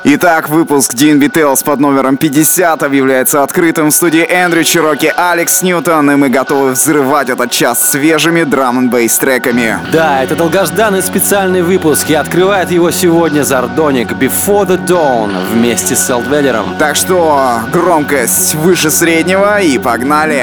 Итак, выпуск D&B Tales под номером 50 объявляется открытым. В студии Эндрю Чироки, Алекс Ньютон, и мы готовы взрывать этот час свежими драм-н-бейс треками. Да, это долгожданный специальный выпуск, и открывает его сегодня Зардоник Before the Dawn вместе с Селдвеллером. Так что громкость выше среднего и погнали!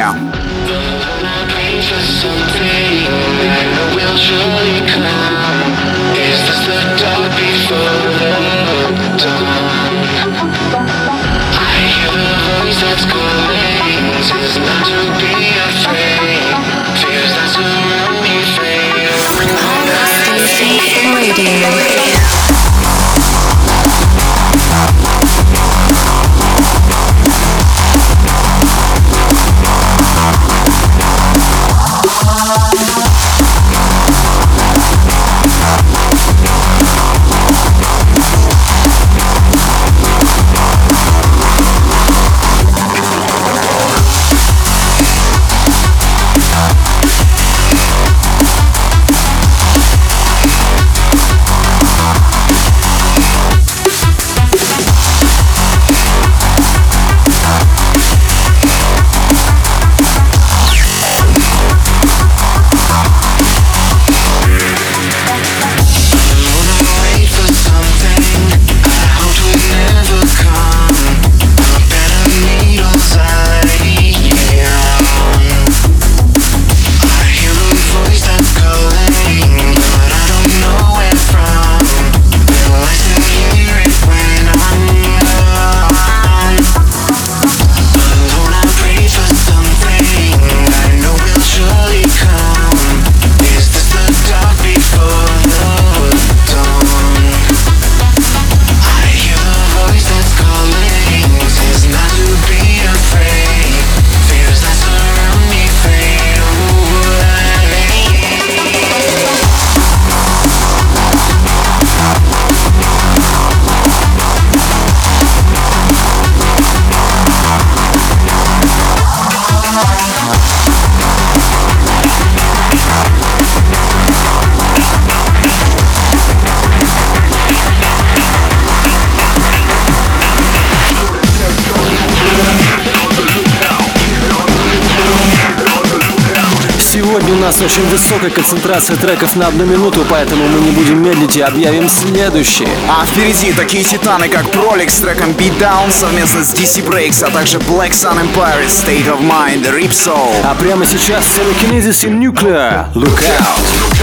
Сегодня у нас очень высокая концентрация треков на 1 минуту, поэтому мы не будем медлить и объявим следующие. А впереди такие титаны, как Prolix с треком Beat Down совместно с DC Breaks, а также Black Sun Empire, State of Mind, Ripsoul. А прямо сейчас Telekinesis и Nuclear. Look out!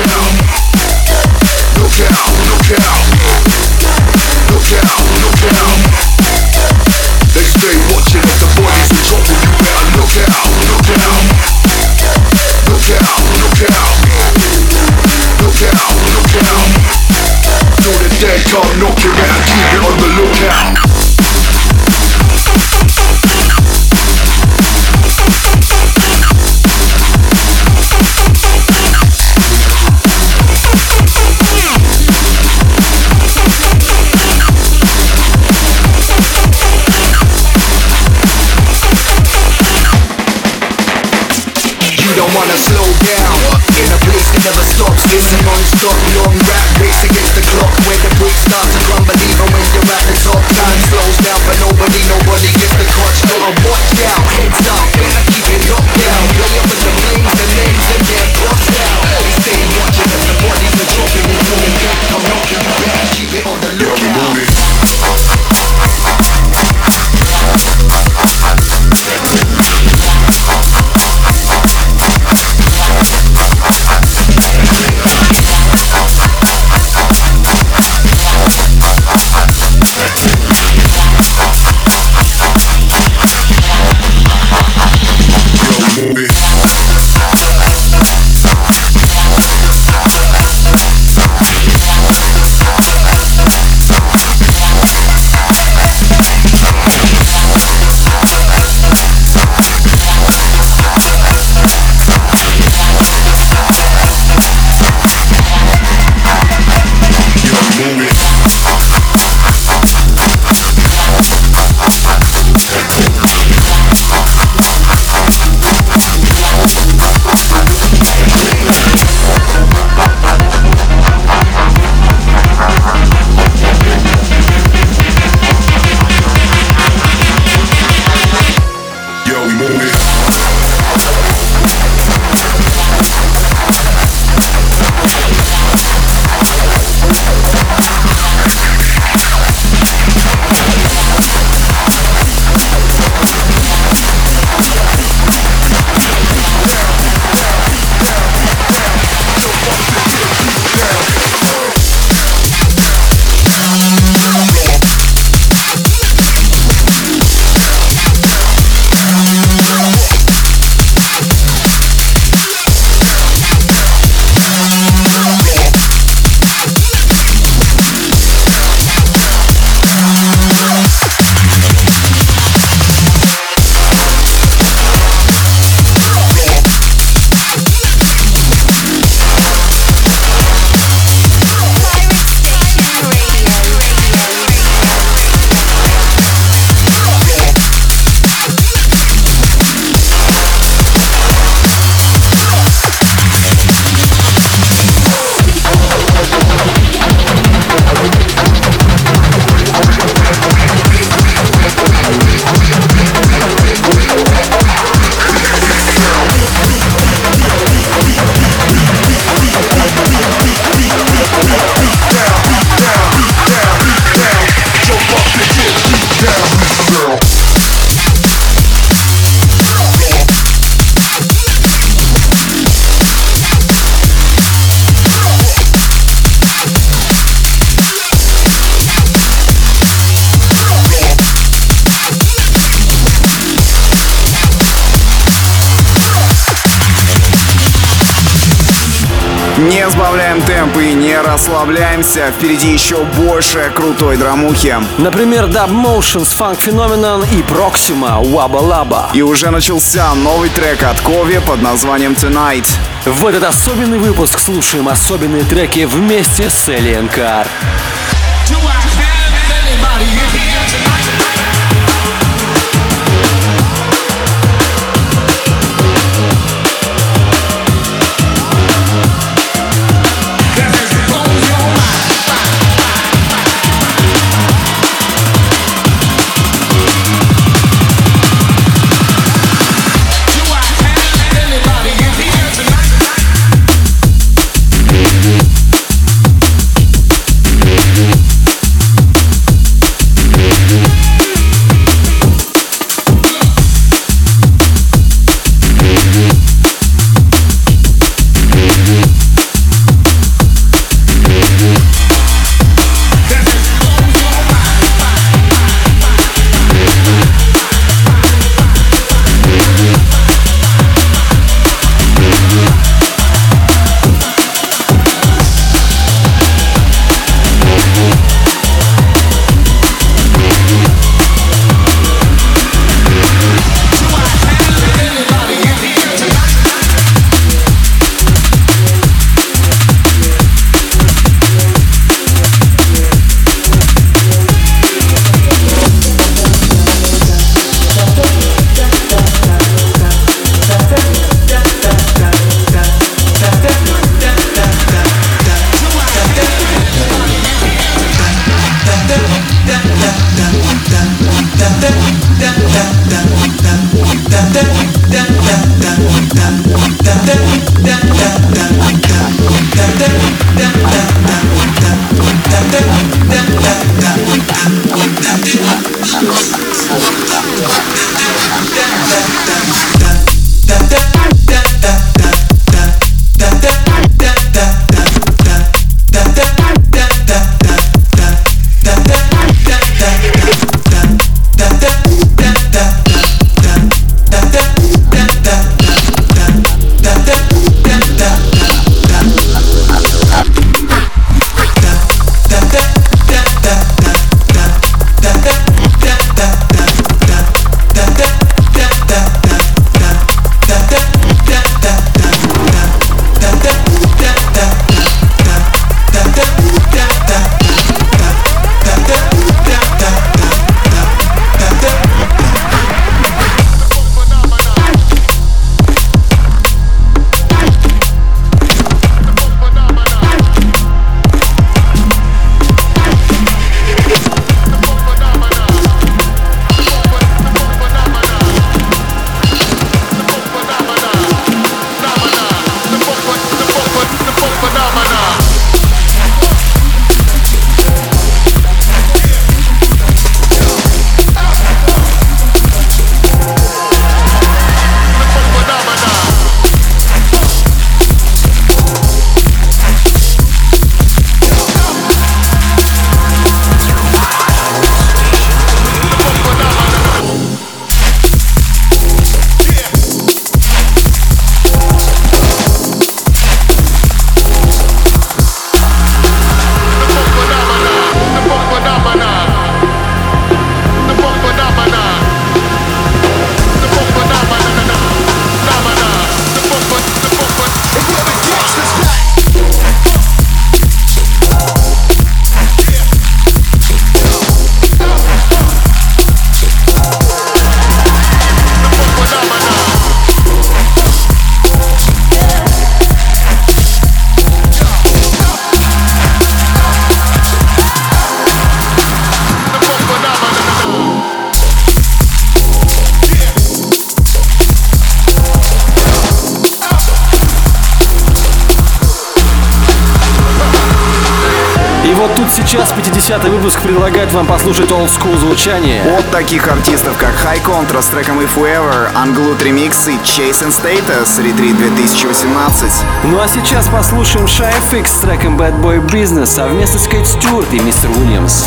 Look out, look out. Look out, look out. They stay watching as the bodies are dropping. You better look out, look out. Look out, look out. Look out, look out. Know the dead can't knock you out. Keep it on the lookout. Don't wanna slow down in a place that never stops. It's a non-stop long rap race against the clock, where the brakes start to rumble even when you're at the top. Time slows down for nobody gets the clutch. Gotta watch out, heads up, better keep it locked down. Play up with the flames, the names and get crossed out. They stay watching as the bodies are dropping. It's going back, I'm knocking you back. Keep it on the lookout. Не сбавляем темп и не расслабляемся. Впереди еще больше крутой драмухи. Например, Dub Motions, Funk Phenomenon и Proxima, Wabba Laba. И уже начался новый трек от Кови под названием Tonight. В этот особенный выпуск слушаем особенные треки вместе с Alien Car. вот тут сейчас 50-й выпуск предлагает вам послушать олдскул звучание от таких артистов, как High Contra с треком If We Ever, Unglued Remix и Chase and Status, Retreat 2018. Ну а сейчас послушаем Shy FX с треком Bad Boy Business совместно с Кейт Стюарт и Мистер Уильямс.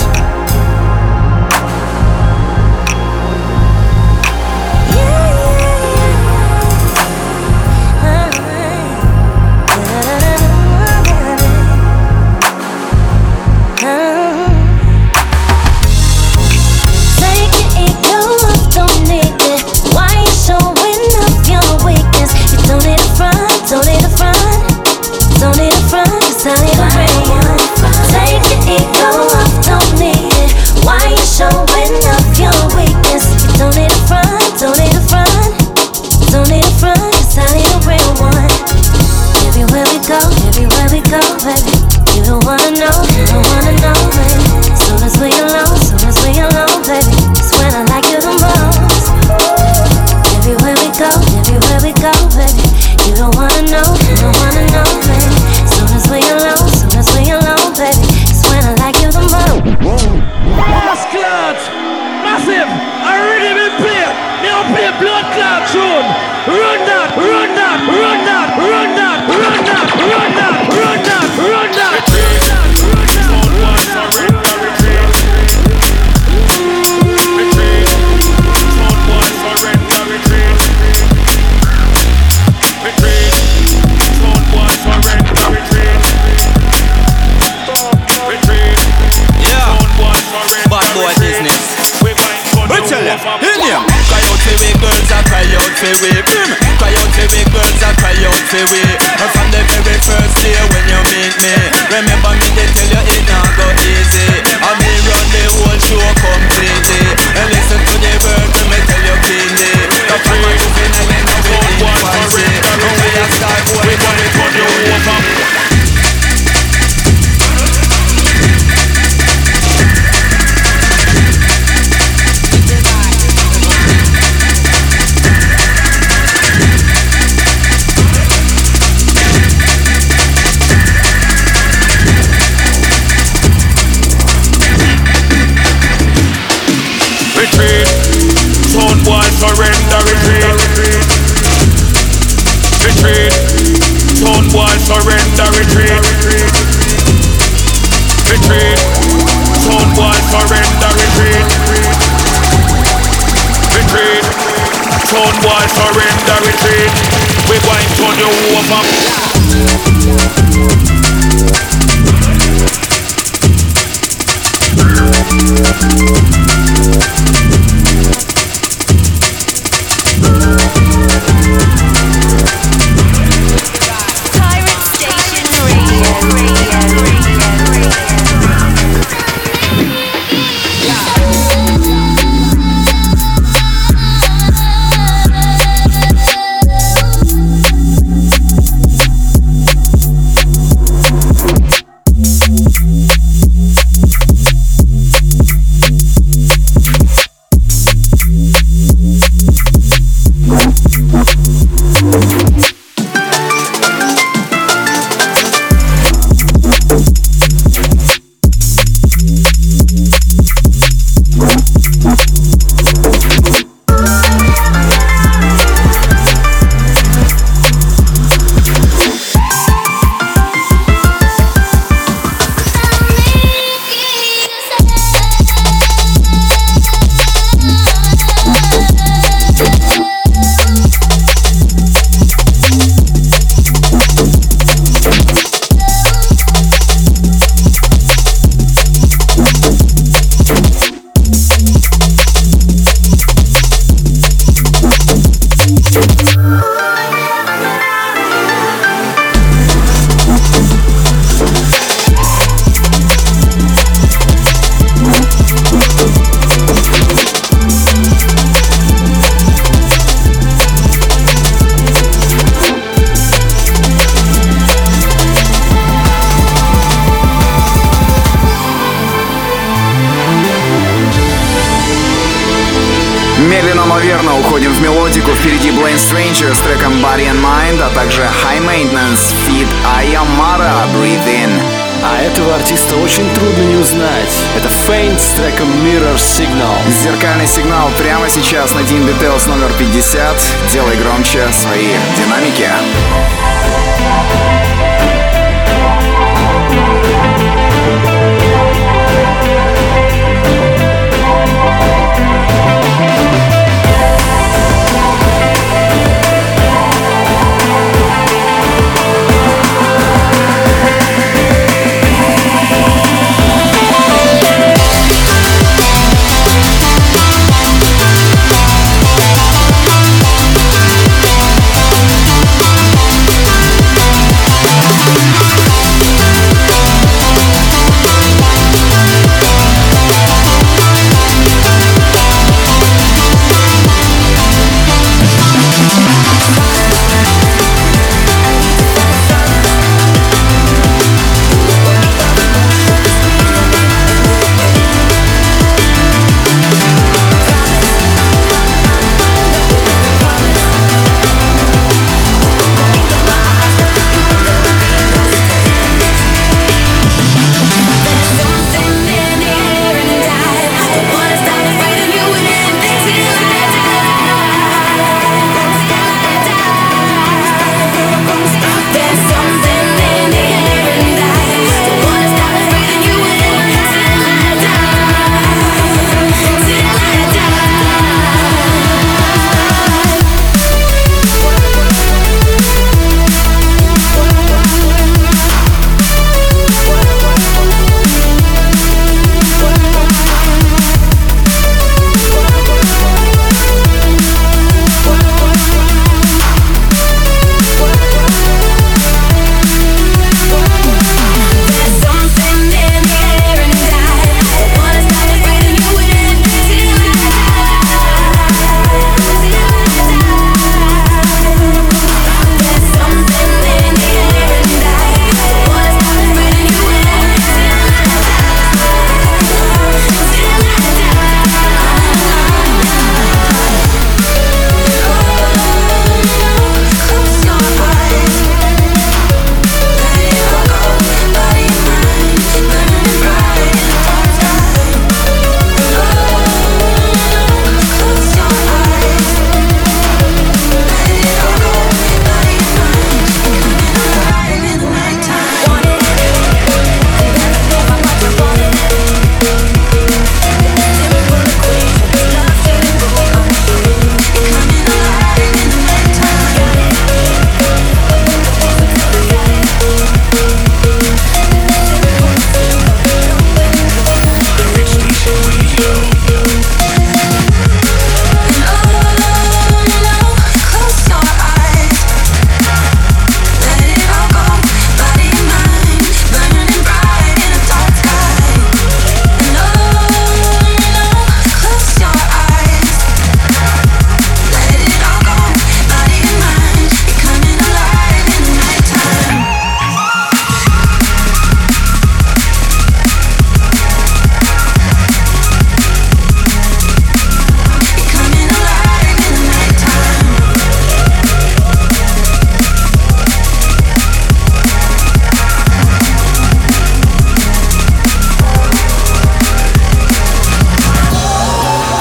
Retreat. Son boy surrender, retreat. Retreat. Son boy surrender, retreat. Retreat. Son boy surrender, retreat. Retreat. Son boy surrender, retreat. We going to turn you over. Медленно, но верно уходим в мелодику. Впереди Blame Stranger с треком Body and Mind, а также High Maintenance feat Ayamara Breathe In. А этого артиста очень трудно не узнать. Это Faint с треком Mirror Signal. Зеркальный сигнал прямо сейчас на Dean Details номер 50. Делай громче свои динамики.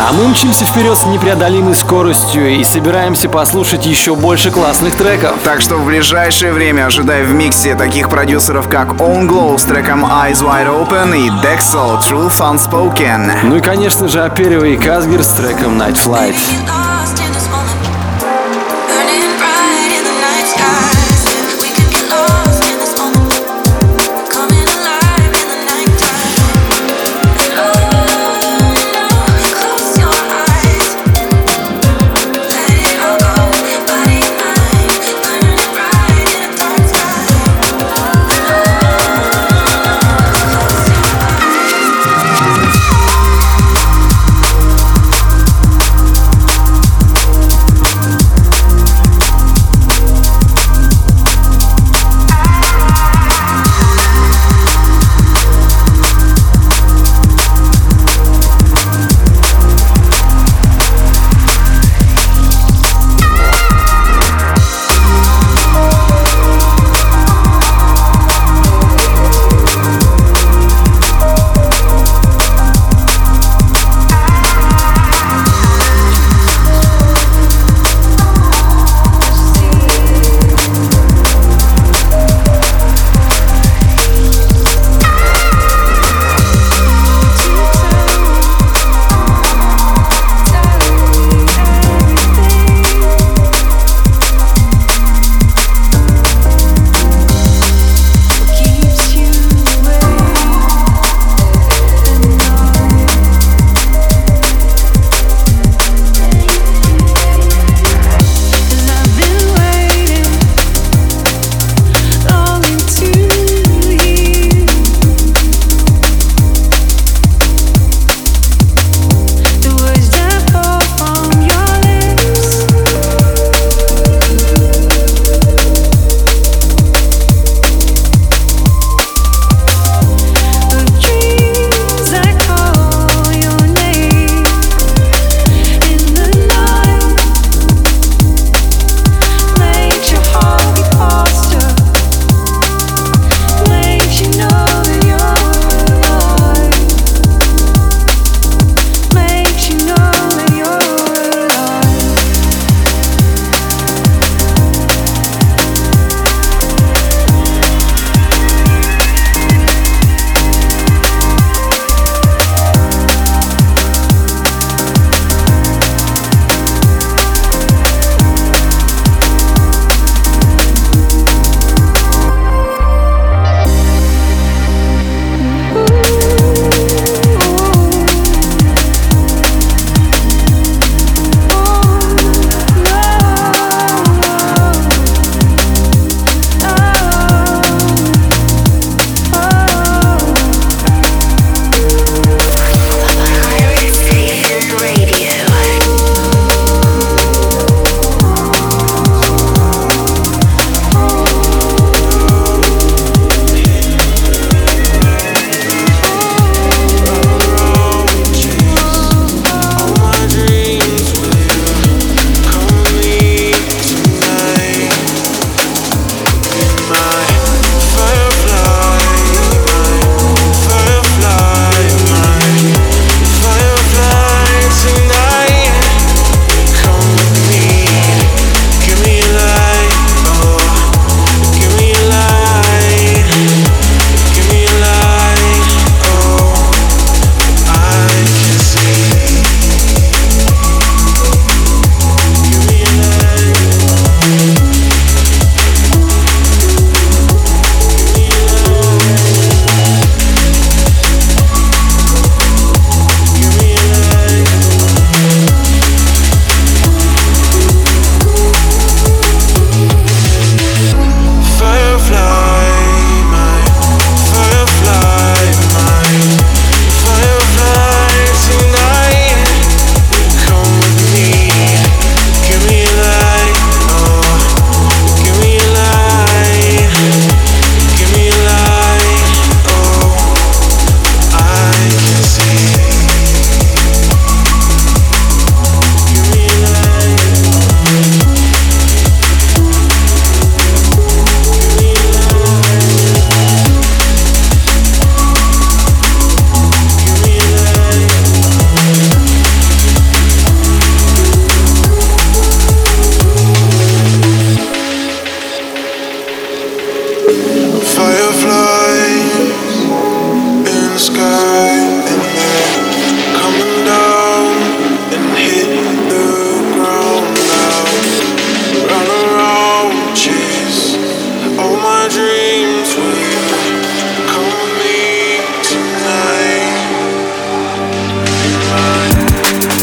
А мы мчимся вперед с непреодолимой скоростью и собираемся послушать еще больше классных треков. Так что в ближайшее время ожидай в миксе таких продюсеров, как Own Glow с треком Eyes Wide Open и Dexel Truth Unspoken. Ну и, конечно же, Аперио и Казгер с треком Night Flight.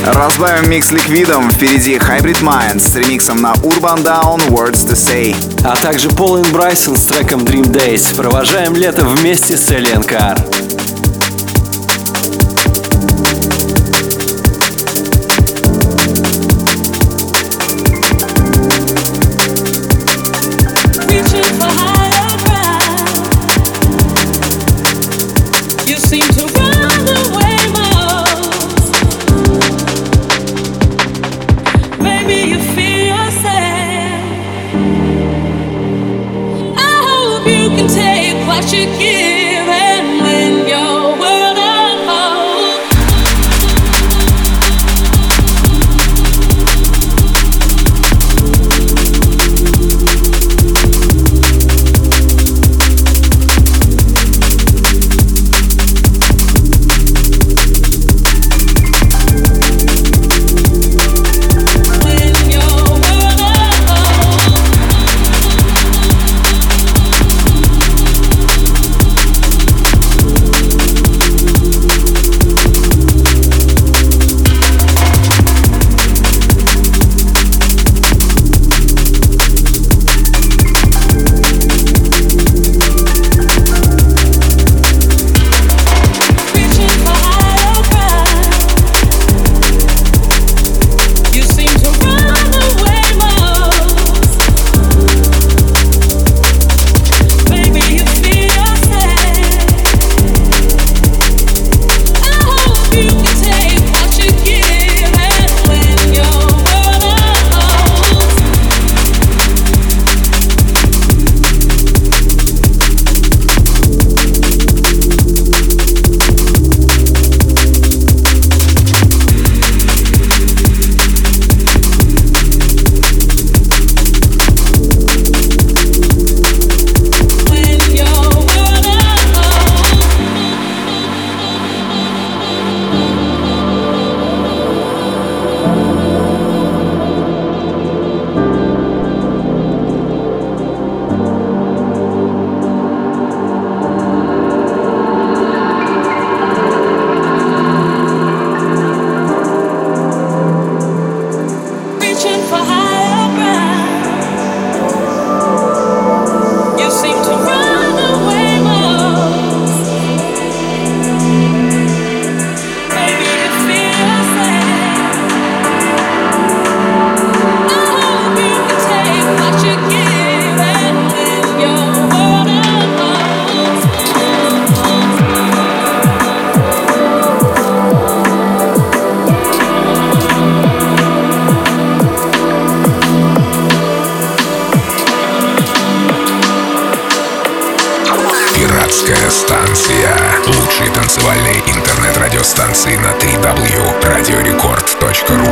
Разбавим микс ликвидом. Впереди Hybrid Minds с ремиксом на Urban Down Words to Say. А также Пол и Брайсон с треком Dream Days. Провожаем лето вместе с Alien Car. You give and when your world unfolds. Радиостанции на www.radiorecord.ru.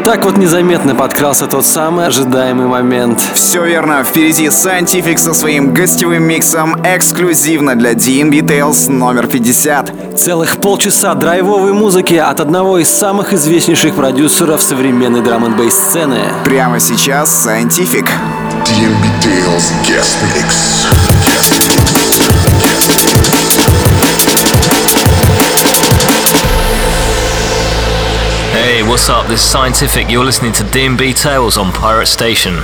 Так вот незаметно подкрался тот самый ожидаемый момент. Все верно, впереди Scientific со своим гостевым миксом эксклюзивно для DNB Tales номер 50. Целых полчаса драйвовой музыки от одного из самых известнейших продюсеров современной драм-н-бейс сцены. Прямо сейчас Scientific. DNB Tales Guest Mix. Hey, what's up? This is Scientific. You're listening to DNB Tales on Pirate Station.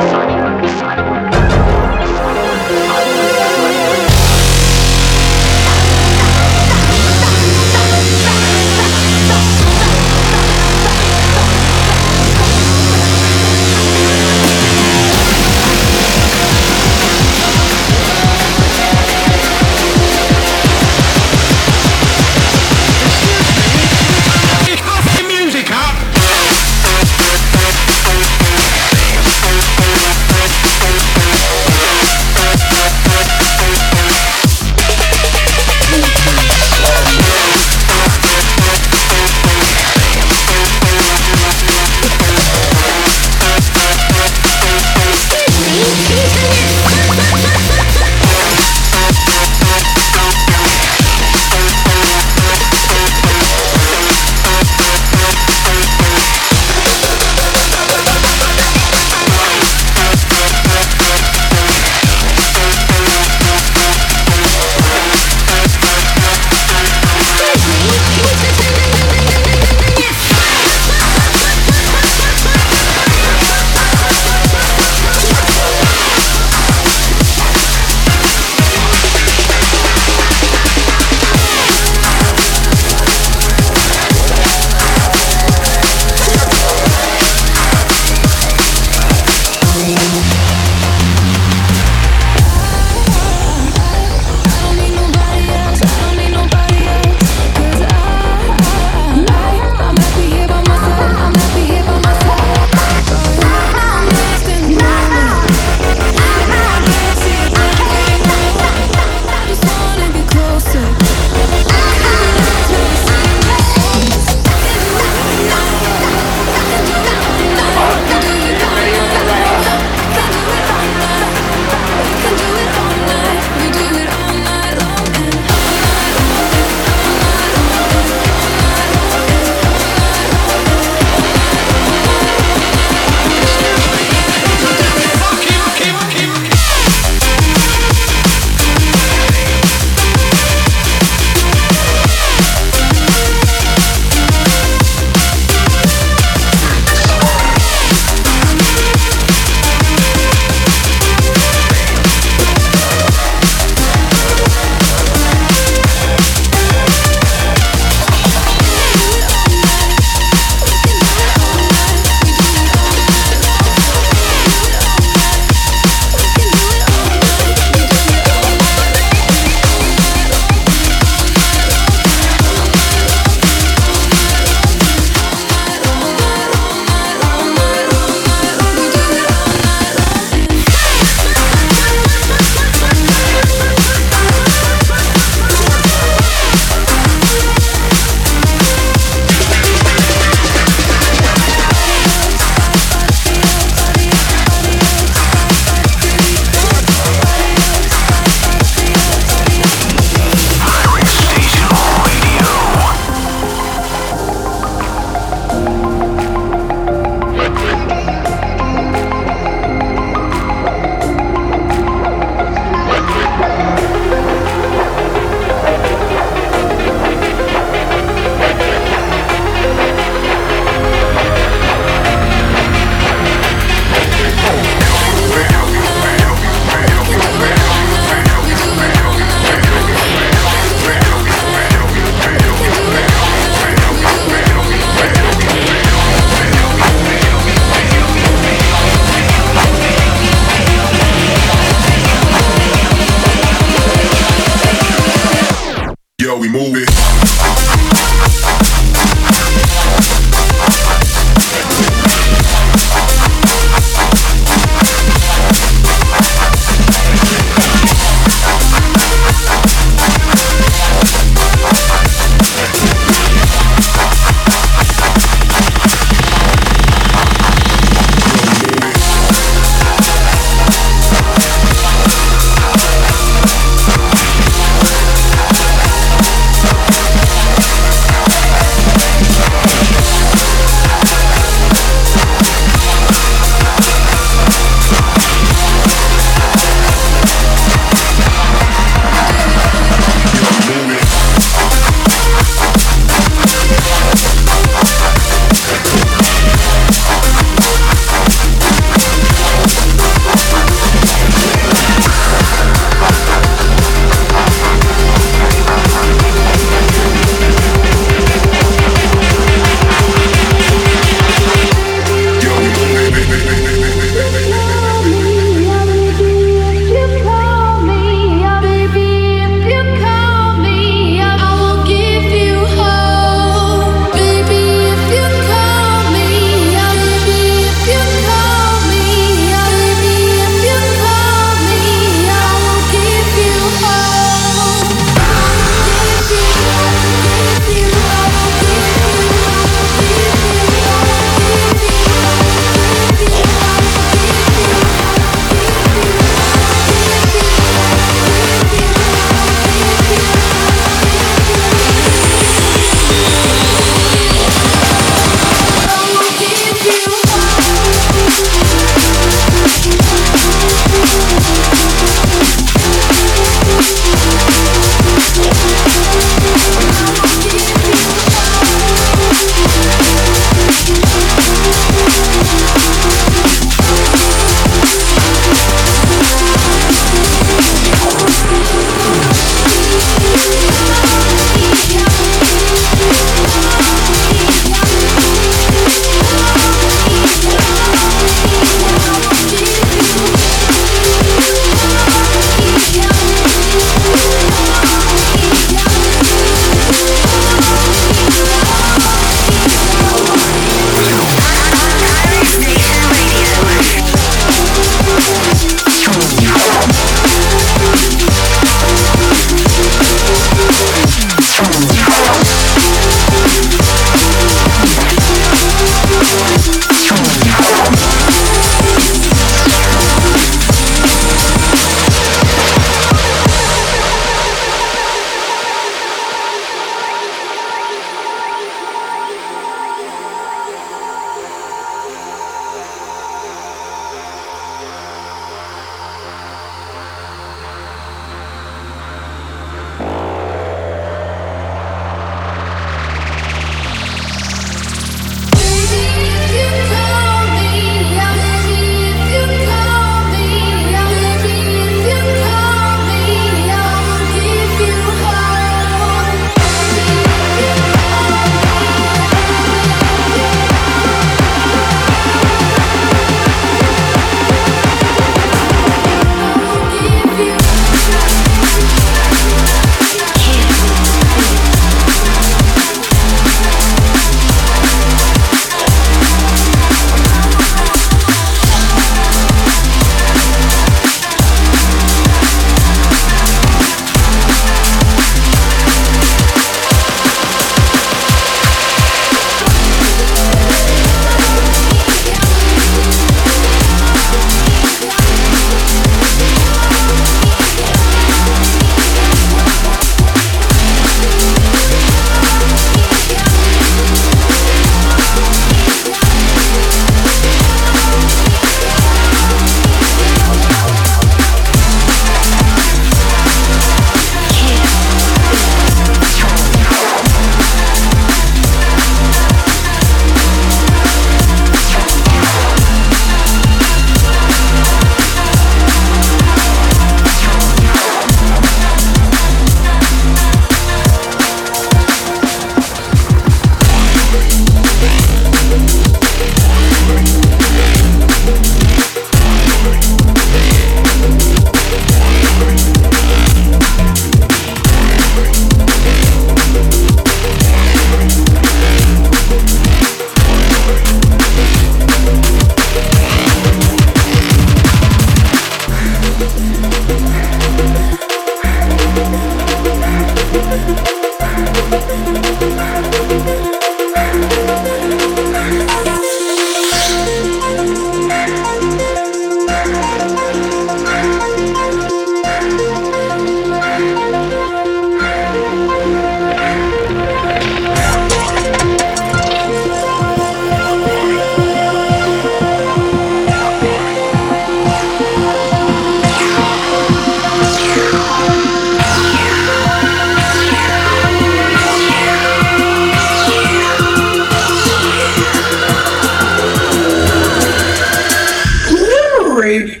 grave.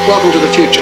Welcome to the future.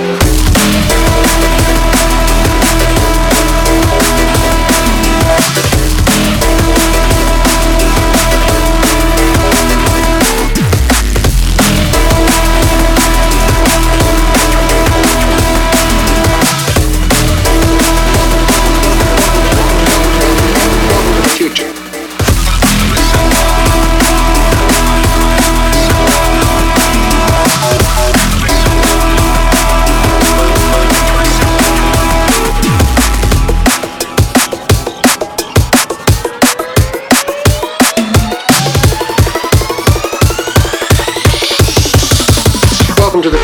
Welcome to the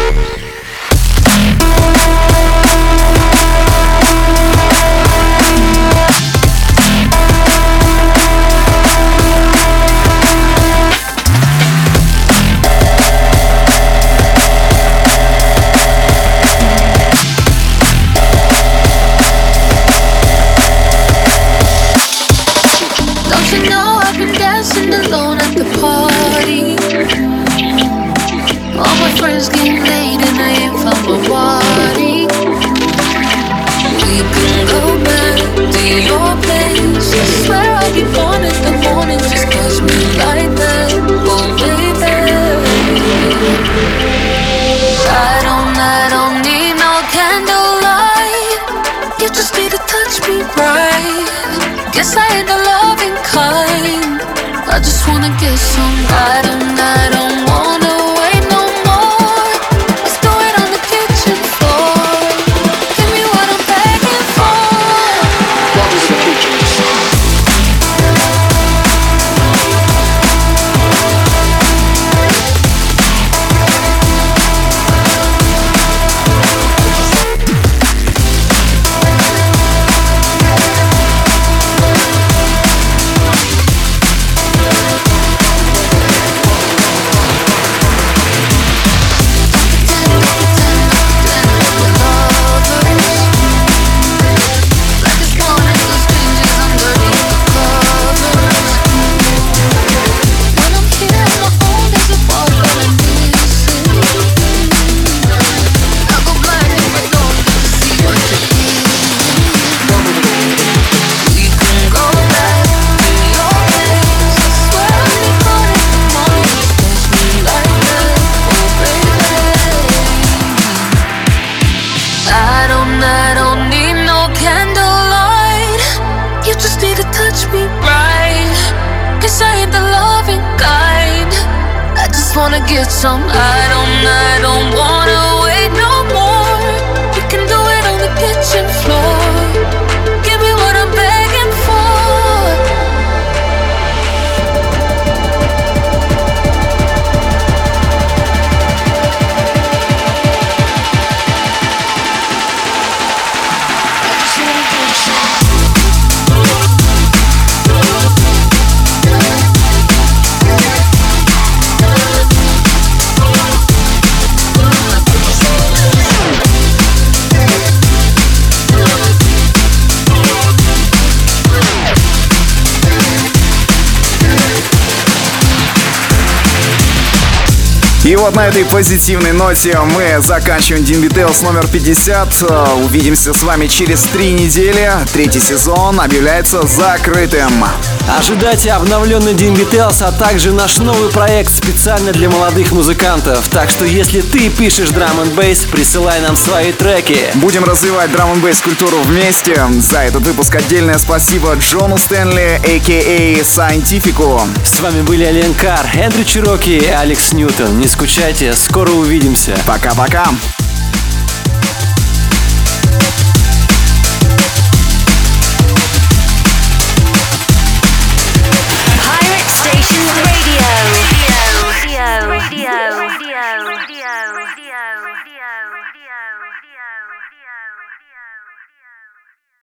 Don't you know I've been dancing alone at the party? All my friends getting late and I ain't found my body. We can go back to your place. I swear I'll be born in the morning just 'cause we like that. Oh baby, I don't need no candlelight. You just need to touch me right. Guess I ain't the loving kind. I just wanna get some. I don't wanna wait no more. Let's do it on the kitchen floor. Give me what I'm begging for. welcome to the future. I don't need no candlelight. You just need to touch me right. Guess I ain't the loving kind. I just wanna get some. I don't wanna wait no more. We can do it on the kitchen floor. Give me what I'm begging for. И вот на этой позитивной ноте мы заканчиваем DnB Tales номер 50. Увидимся с вами через 3 недели. 3-й сезон объявляется закрытым. Ожидайте обновленный DnB Tales, а также наш новый проект специально для молодых музыкантов. Так что если ты пишешь драм н бейс, присылай нам свои треки. Будем развивать драм н бейс культуру вместе. За этот выпуск отдельное спасибо Джону Стэнли, а.к.а. Scientific. С вами были Ален Кар, Эндрю Чироки и Алекс Ньютон. Не скучайте, скоро увидимся. Пока-пока.